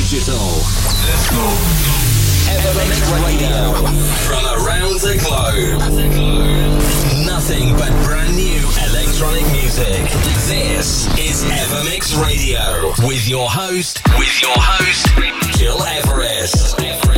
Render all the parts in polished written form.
digital. Let's go. Evermix Radio. From around the globe. Nothing but brand new electronic music. This is Evermix Radio. With your host, Gil Everest.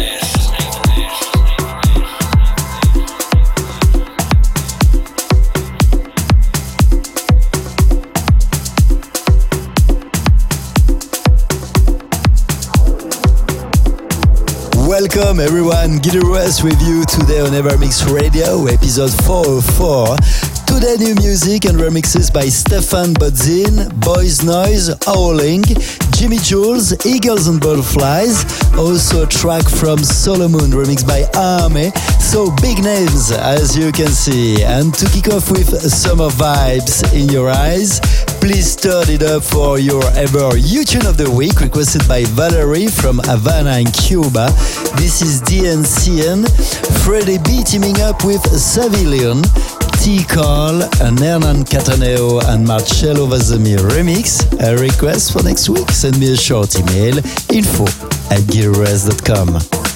Welcome everyone, Gil Everest with you today on Evermix Radio, episode 404. Today new music and remixes by Stefan Bodzin, Boys Noise, Howling, Jimmy Jules, Eagles and Butterflies, also a track from Solomon remixed by Army. So big names as you can see. And to kick off with summer vibes in your eyes, please turn it up for your ever U-Tune of the Week, requested by Valerie from Havana in Cuba. This is DNCN, Freddie B teaming up with Savilion, T. Carl, and Hernan Cataneo and Marcello Vazzamir remix. A request for next week? Send me a short email, info@gilres.com.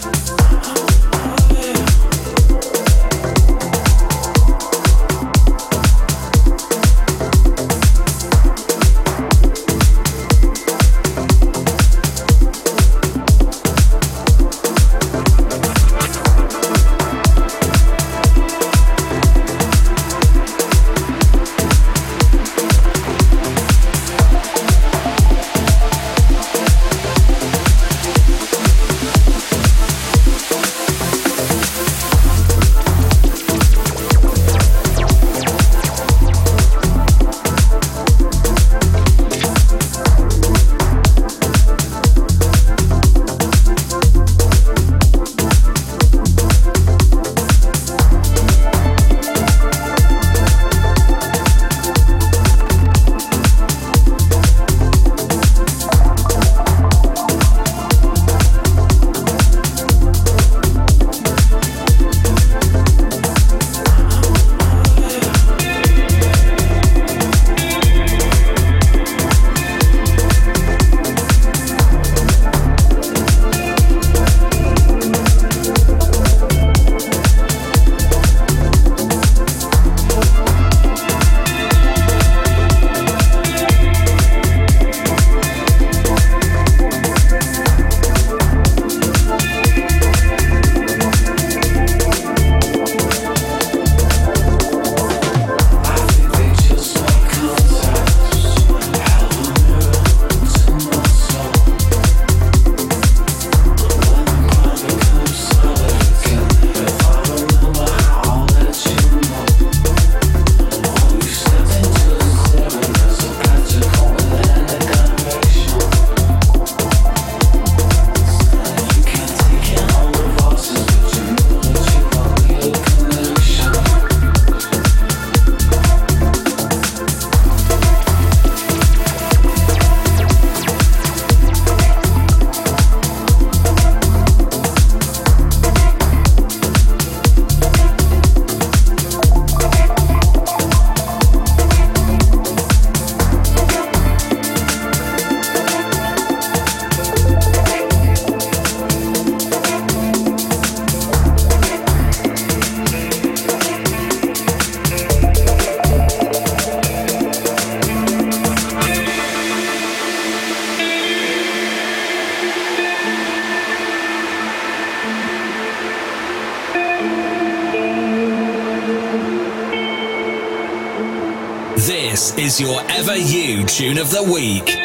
This is your Ever You Tune of the Week.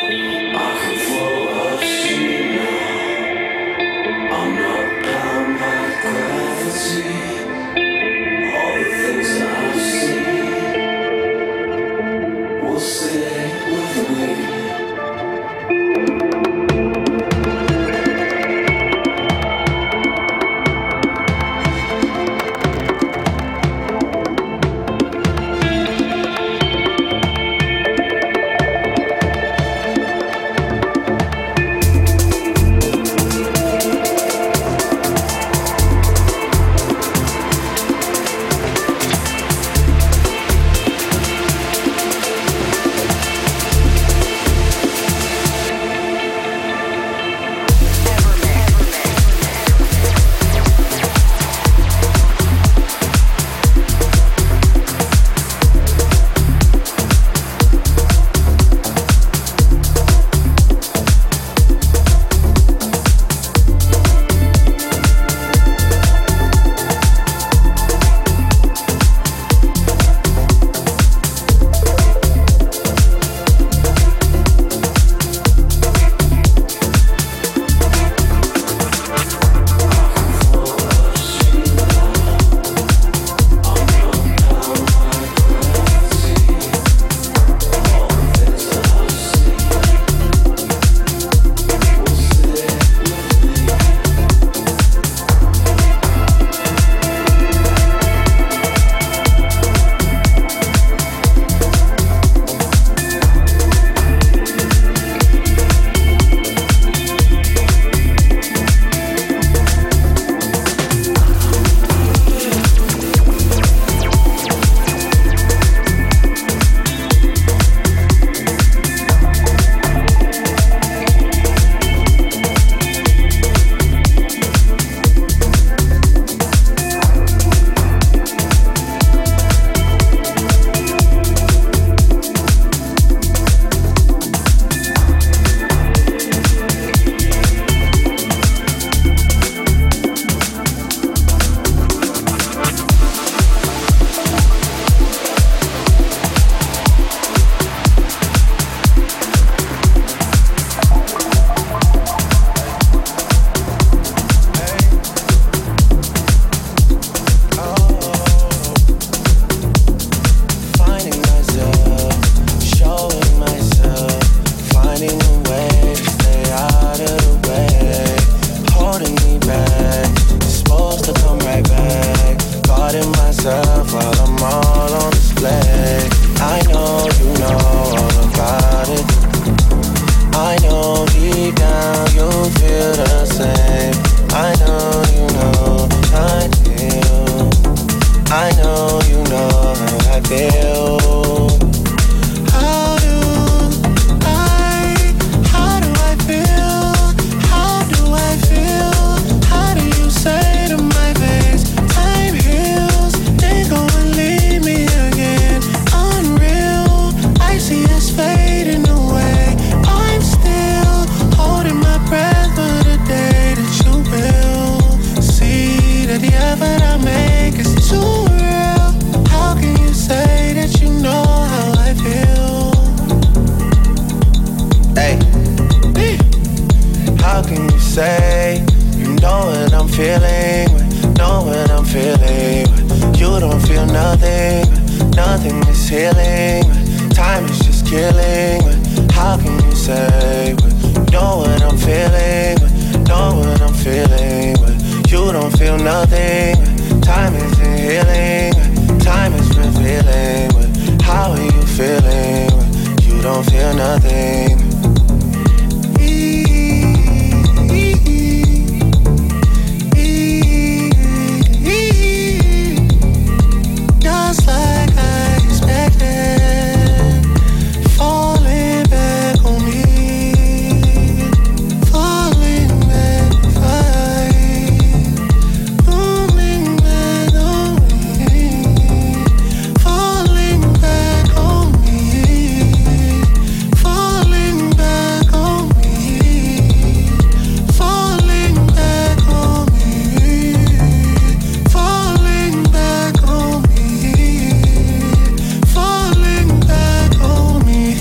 nothing is healing. Time is just killing. How can you say you know what I'm feeling? Know what I'm feeling. You don't feel nothing. Time isn't healing. Time is revealing. How are you feeling? You don't feel nothing. Just like I expected, falling back on me, falling back fine, falling back on me, falling back on me, falling back on me, falling back on me, falling back on me. Falling back on me,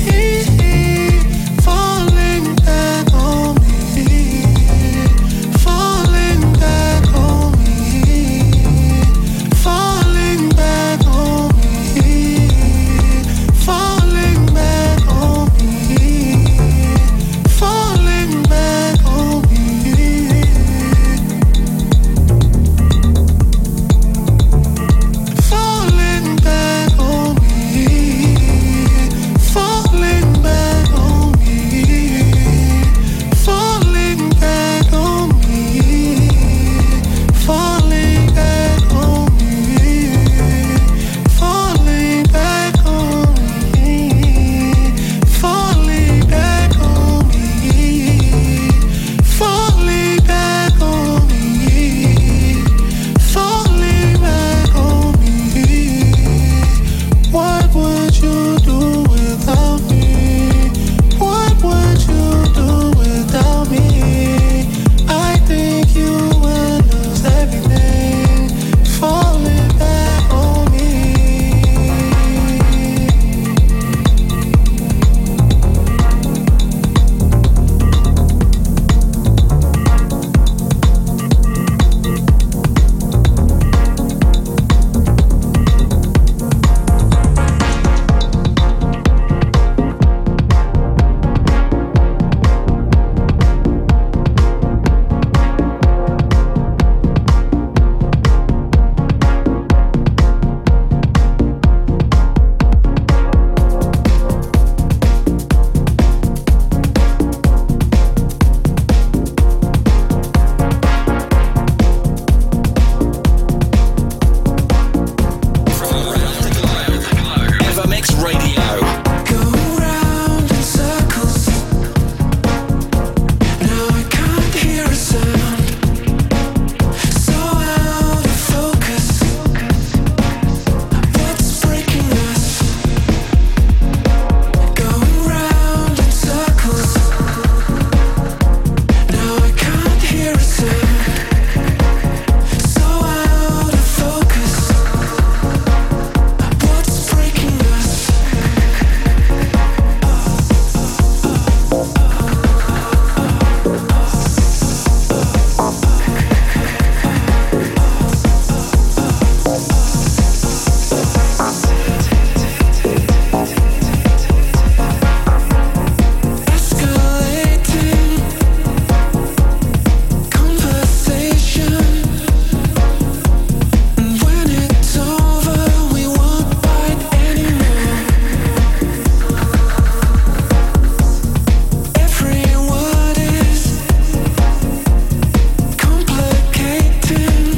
falling back on me, falling back on me, falling back on me, falling back on me, falling back on me, falling back on me, falling back on me, falling back on me, falling back on me, falling back on me, falling back on me, falling back on me, falling back on me. What would you do without me? What would you do without me? I think you would lose everything. Falling back on me. Evermix Radio. Going round in circles. Now I can't hear a sound. So out of focus. What's breaking us? Going round in circles. Now I can't hear a sound. So out of focus. What's breaking us? Escalating conversation, and when it's over, we won't fight anymore. Every word is complicating.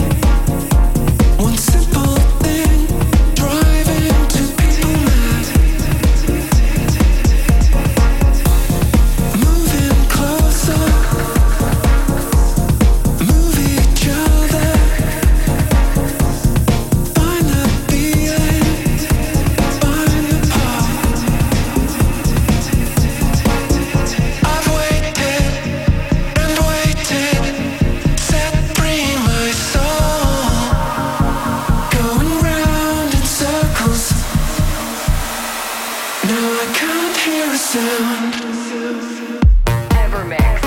One simple thing driving two people mad. Moving closer, move each other, find the feeling, find the part. I've waited and waited, set free my soul. Going round in circles. Now I can't hear a sound. Evermix.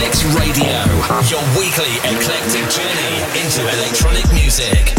Evermix Radio, your weekly eclectic journey into electronic music.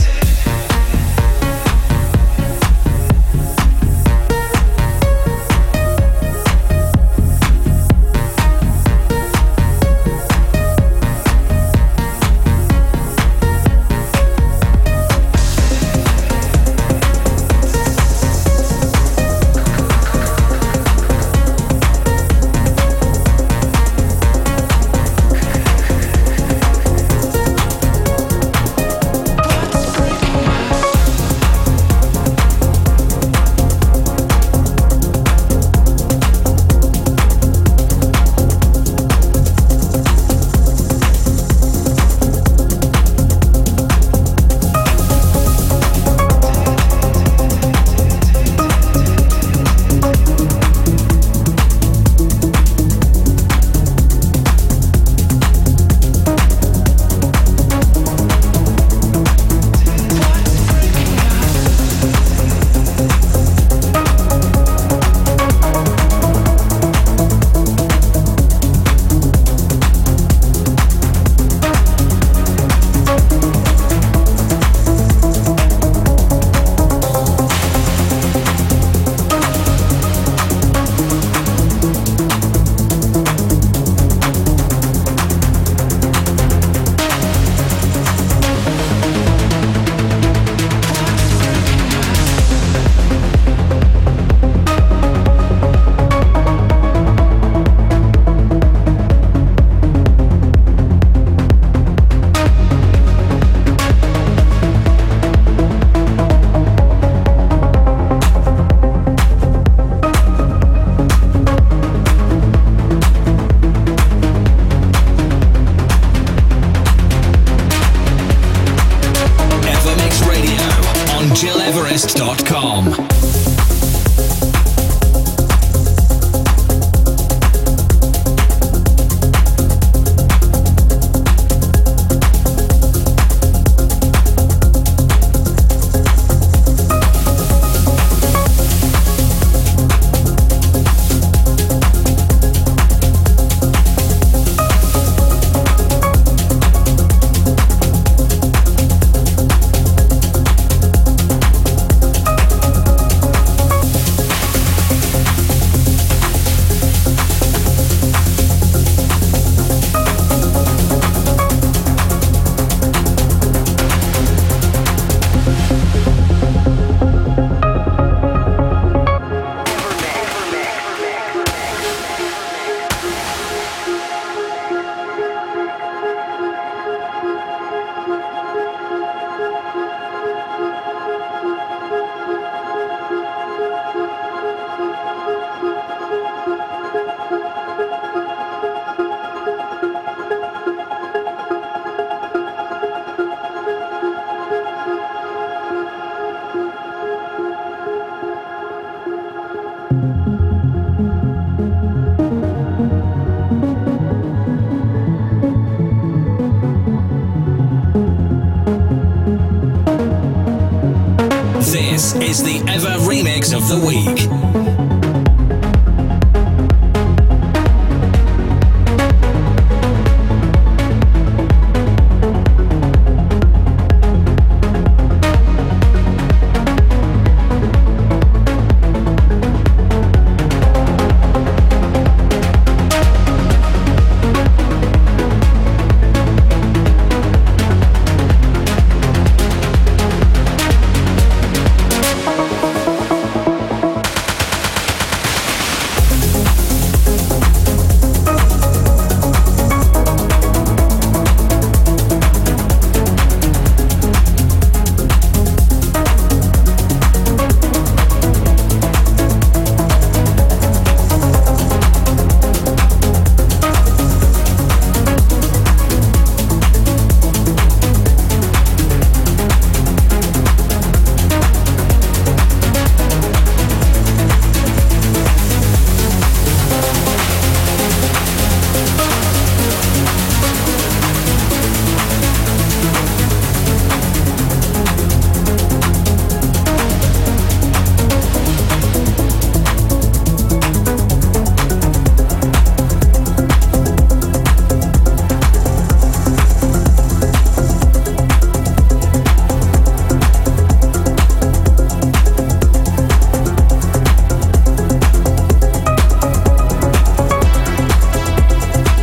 GilEverest.com. This is the Ever Remix of the Week.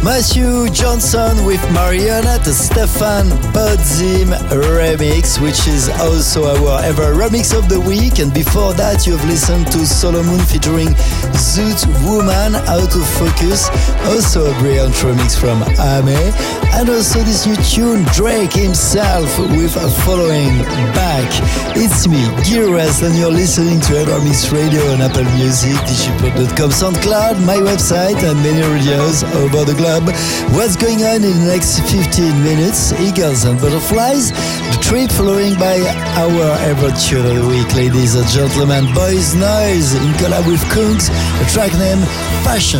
Matthew Johnson with Mariana, the Stefan Bodzim remix, which is also our ever remix of the week. And before that, you've listened to Solomon featuring Zoot Woman, Out of Focus, also a brilliant remix from Ame. And also this new tune, Drake himself with Following Back. It's me, Giras, and you're listening to EverMix Radio on Apple Music, digipod.com, SoundCloud, my website, and many radios over the globe. What's going on in the next 15 minutes? Eagles and Butterflies, the trip following by our ever tune of the week, ladies and gentlemen, Boys Noise in collab with Kungs, a track named Passion.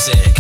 music.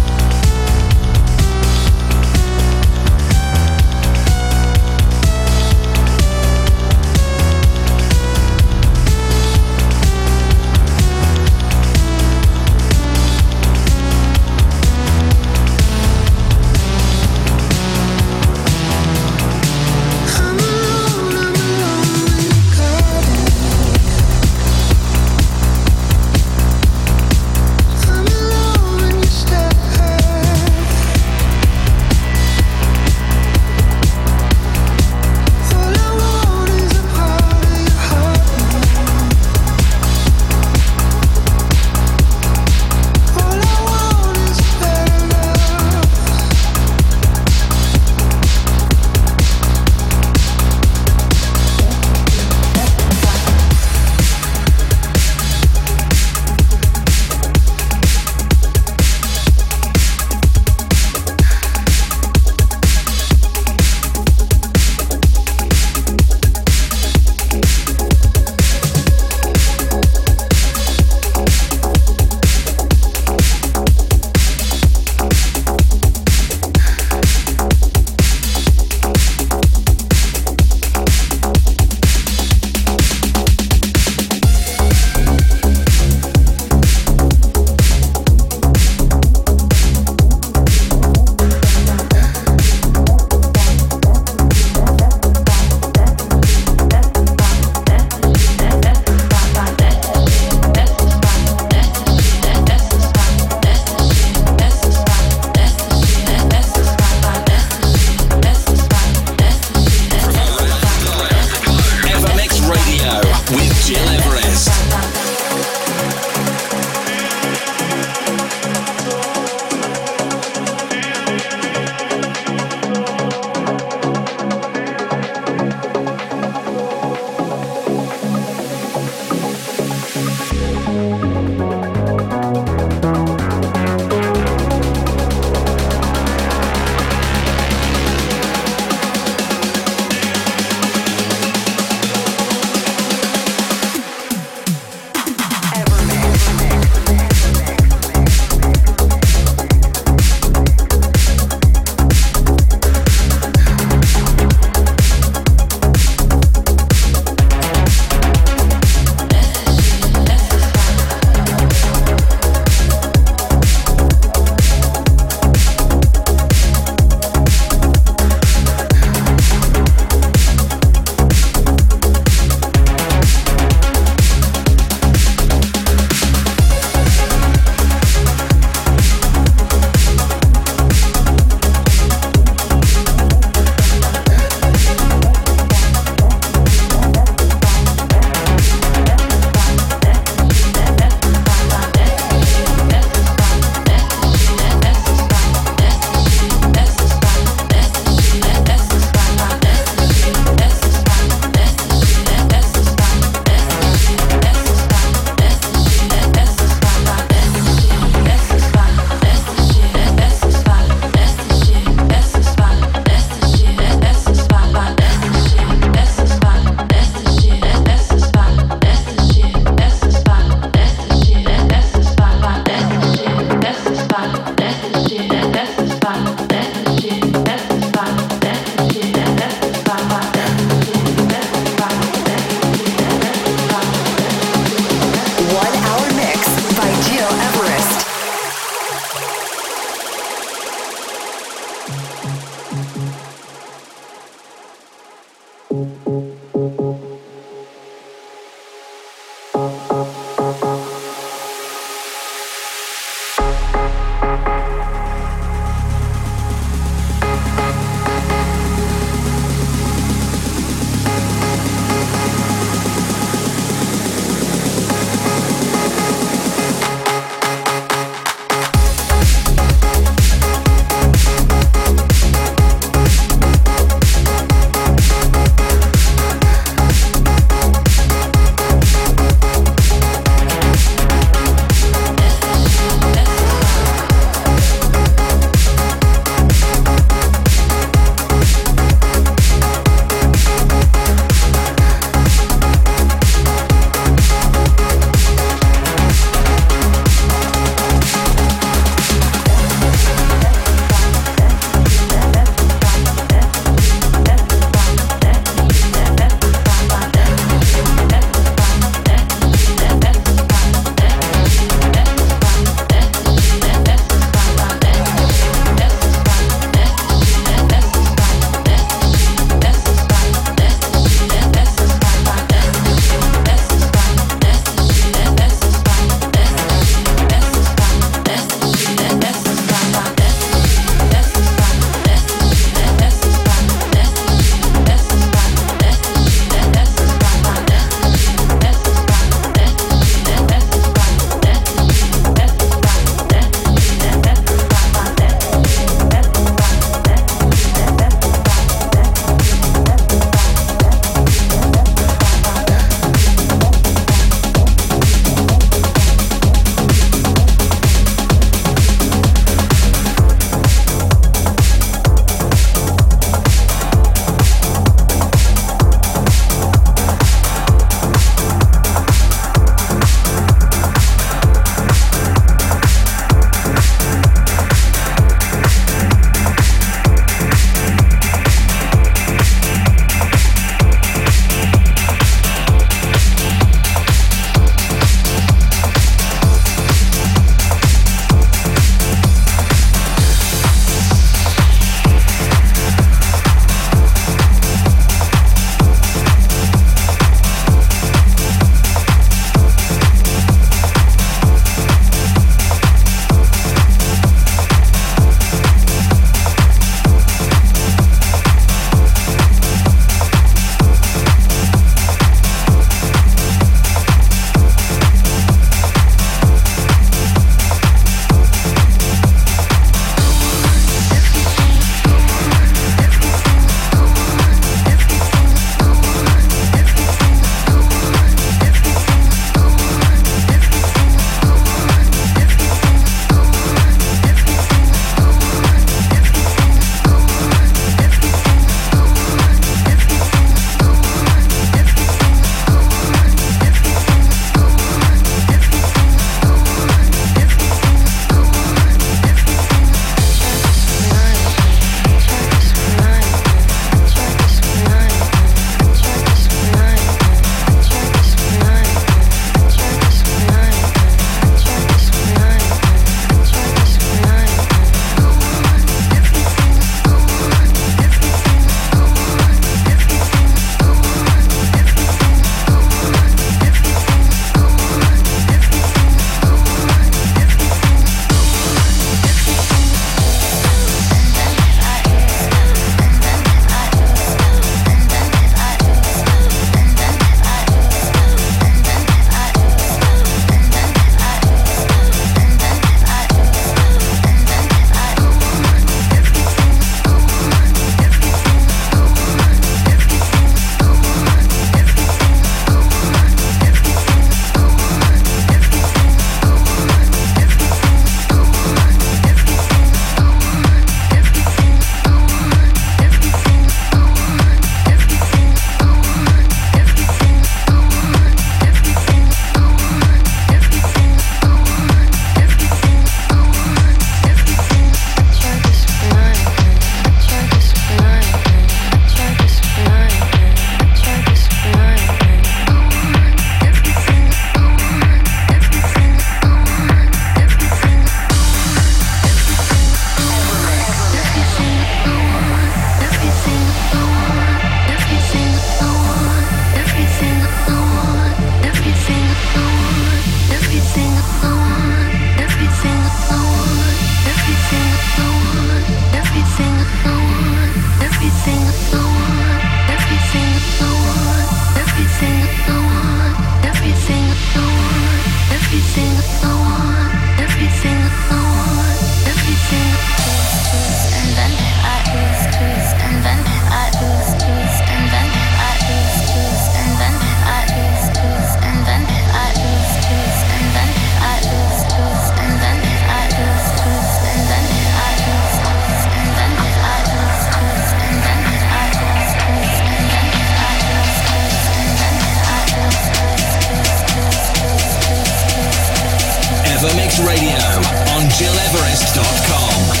Radio on GilEverest.com.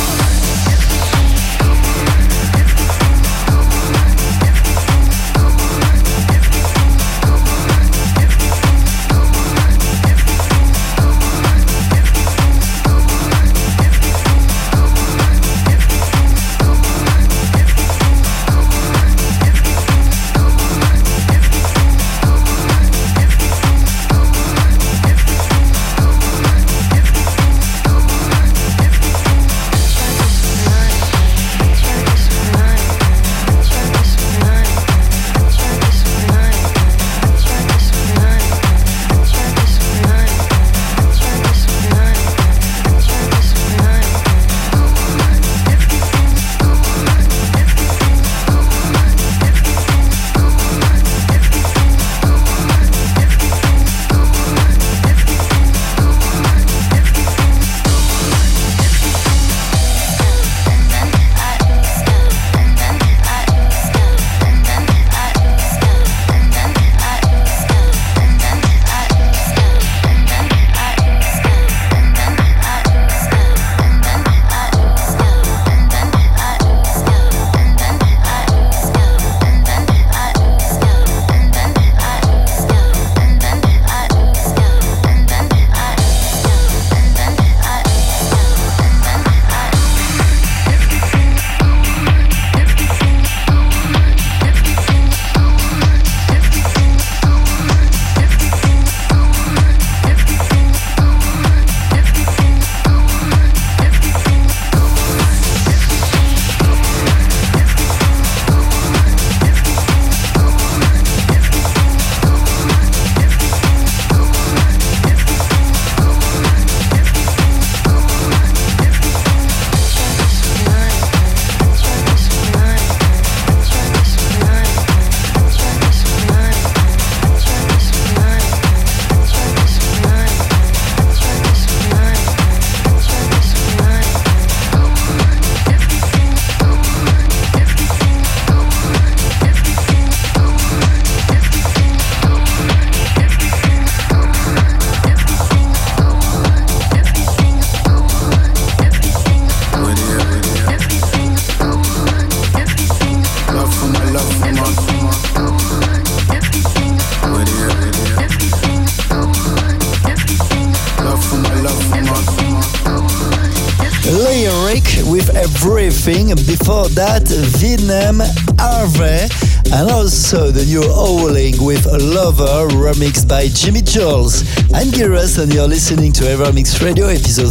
Everything. Before that, Vietnam, Harvey, and also the new Howling with a Lover remixed by Jimmy Jules. I'm Giras and you're listening to Evermix Radio episode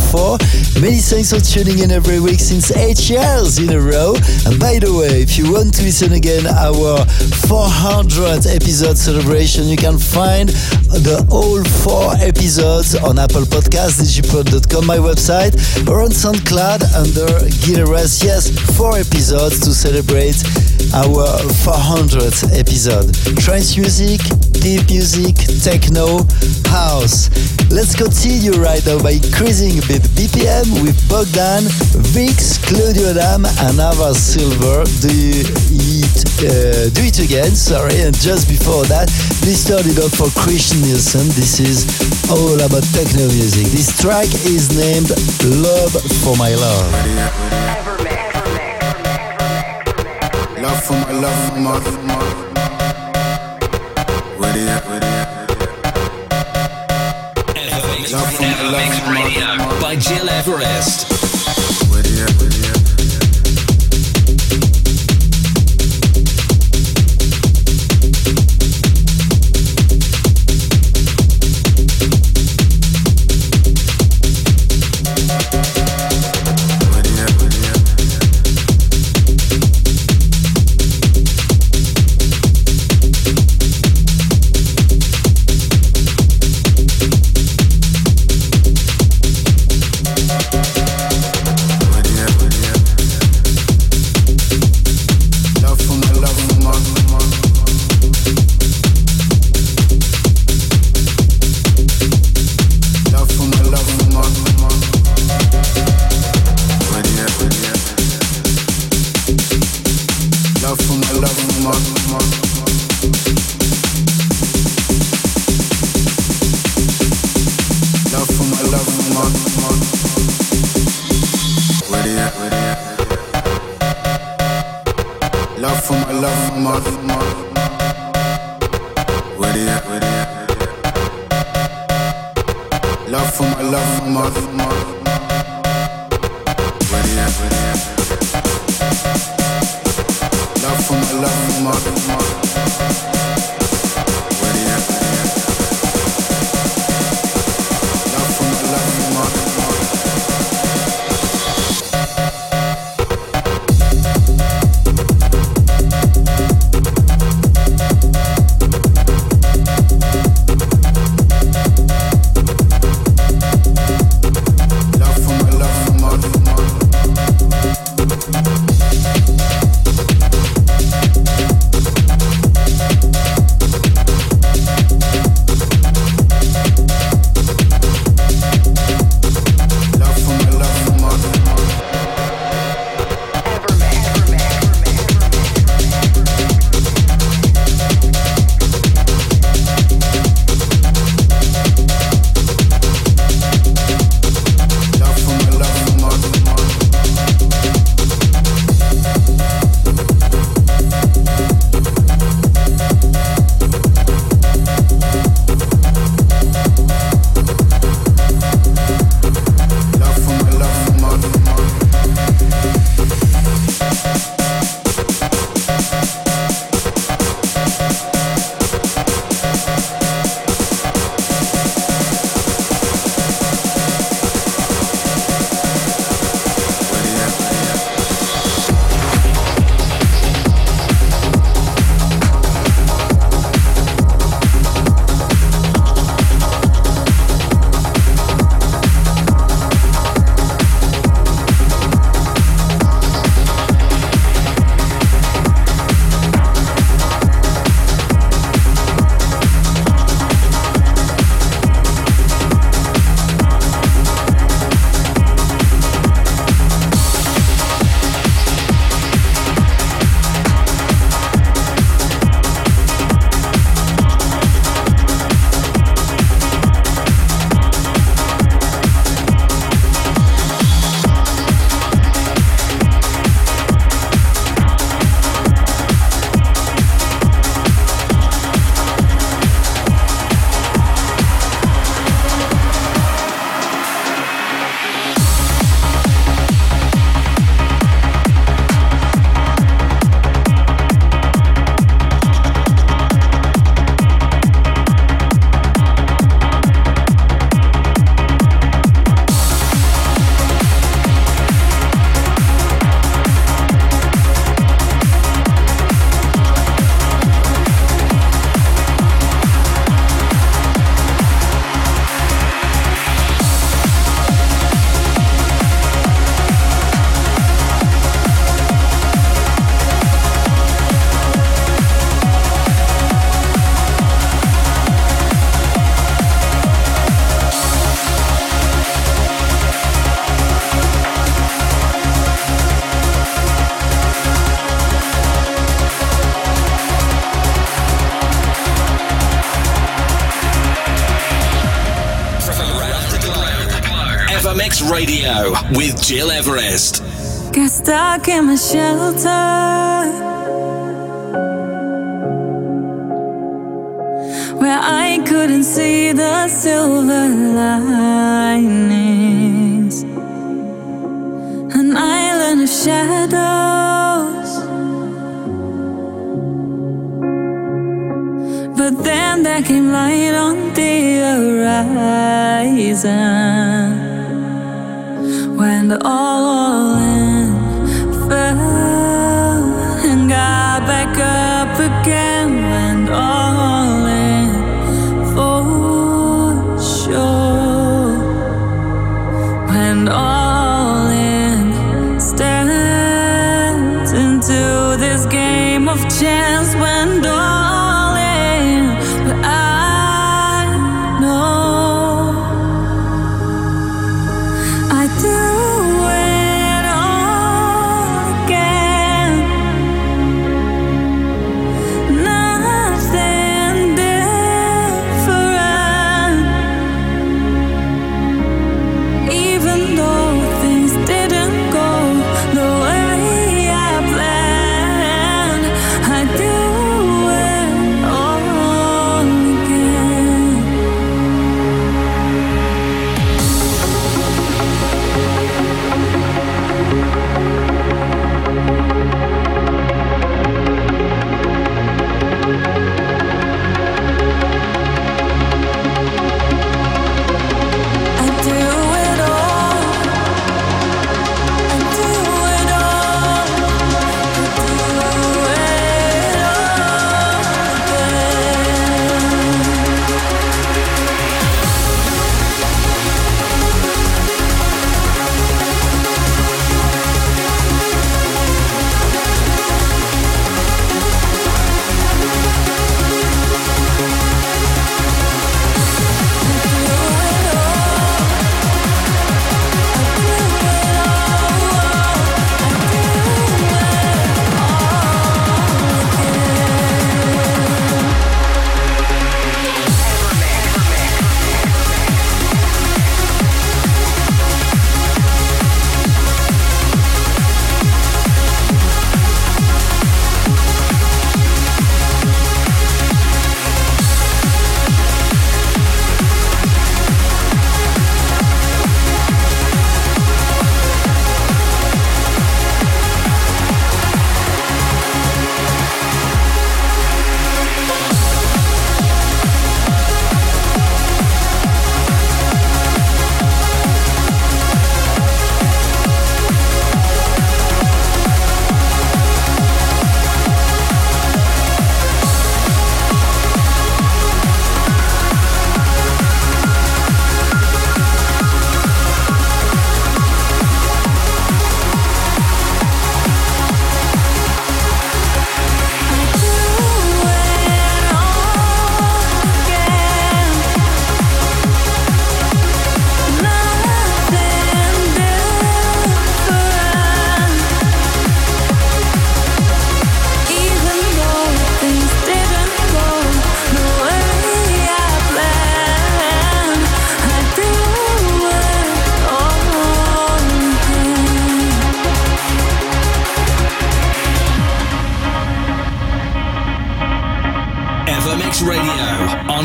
404. Many thanks for tuning in every week since 8 years in a row. And by the way, if you want to listen again our 400th episode celebration, you can find the whole 4 episodes on Apple Podcasts, digipod.com, my website, or on SoundCloud under Giras. Yes, 4 episodes to celebrate our 400th episode. Trance music, deep music, techno, house. Let's continue right now by increasing a bit BPM with Bogdan, Vix, Claudio Adam, and Ava Silver. Do it again, sorry. And just before that, please turn it up for Christian Nielsen. This is all about techno music. This track is named Love for My Love. Love for my love for my Evermix Radio by Gil Everest. Where they at? Love for my Where they at? Love for my Where they at? Love for my Evermix Radio with Gil Everest. Got stuck in my shelter, where I couldn't see the silver linings. An island of shadows, but then there came light on the horizon. When the all-in fell and got back up again, went all in for sure. Went all in, stepped into this game of chance, went all in, but I know I do. I do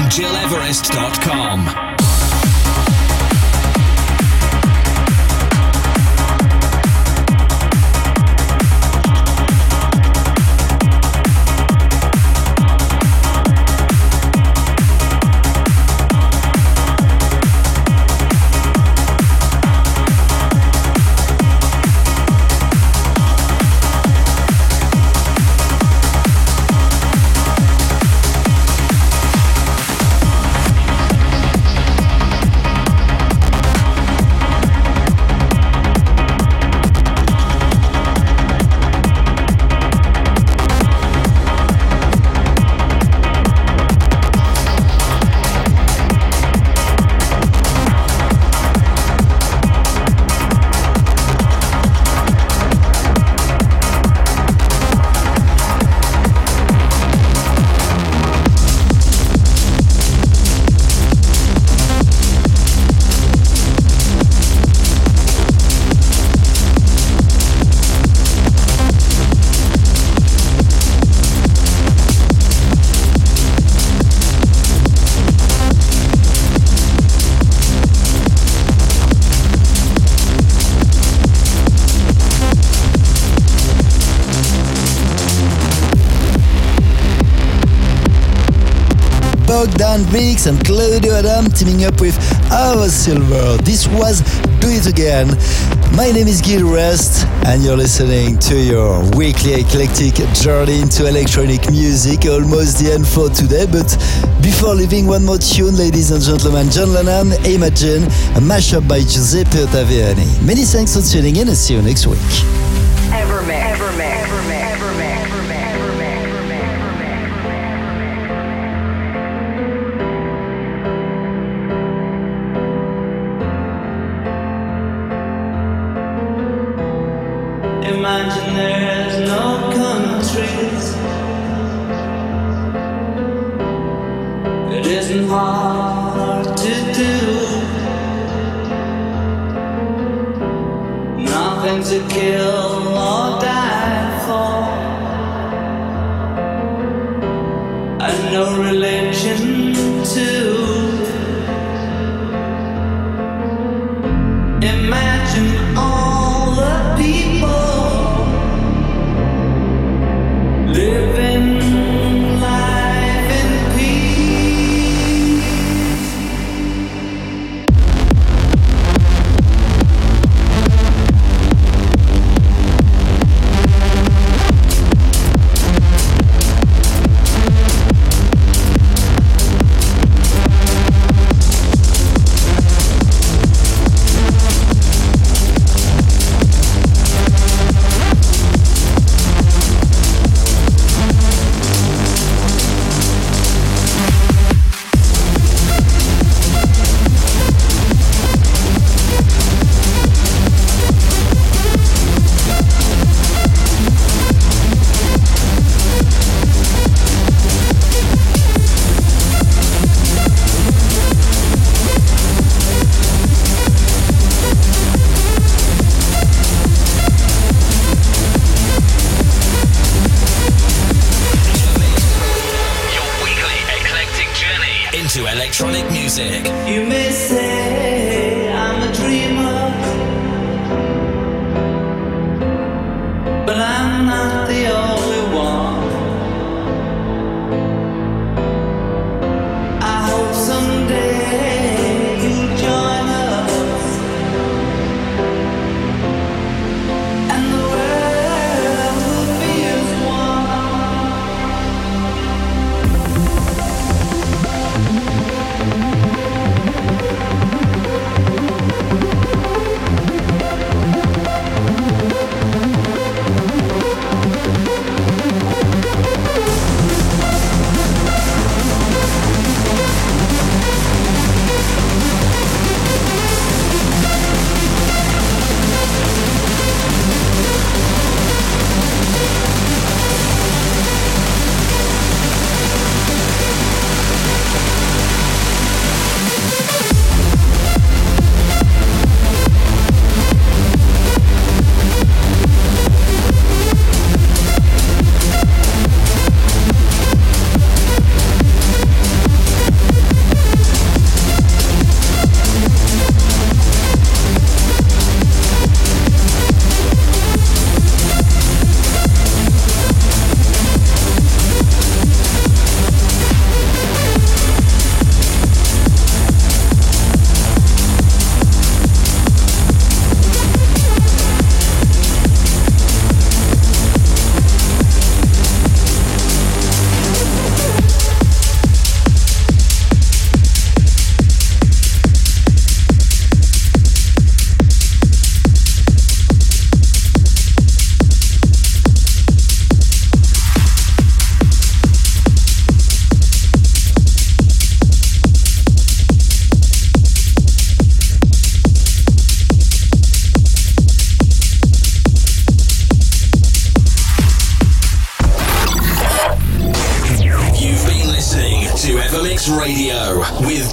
GilEverest.com. Bogdan Vix and Claudio Adam teaming up with Ava Silver. This was Do It Again. My name is Gil Rest and you're listening to your weekly eclectic journey into electronic music. Almost the end for today, but before leaving, one more tune, ladies and gentlemen. John Lennon, Imagine, a mashup by Giuseppe Ottaviani. Many thanks for tuning in and see you next week. Imagine there's no countries. It isn't hard to do. Nothing to kill or die for, and no religion too. Imagine all the people living life in peace.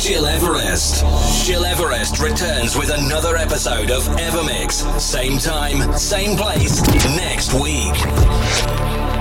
Gil Everest. Gil Everest returns with another episode of Evermix. Same time, same place, next week.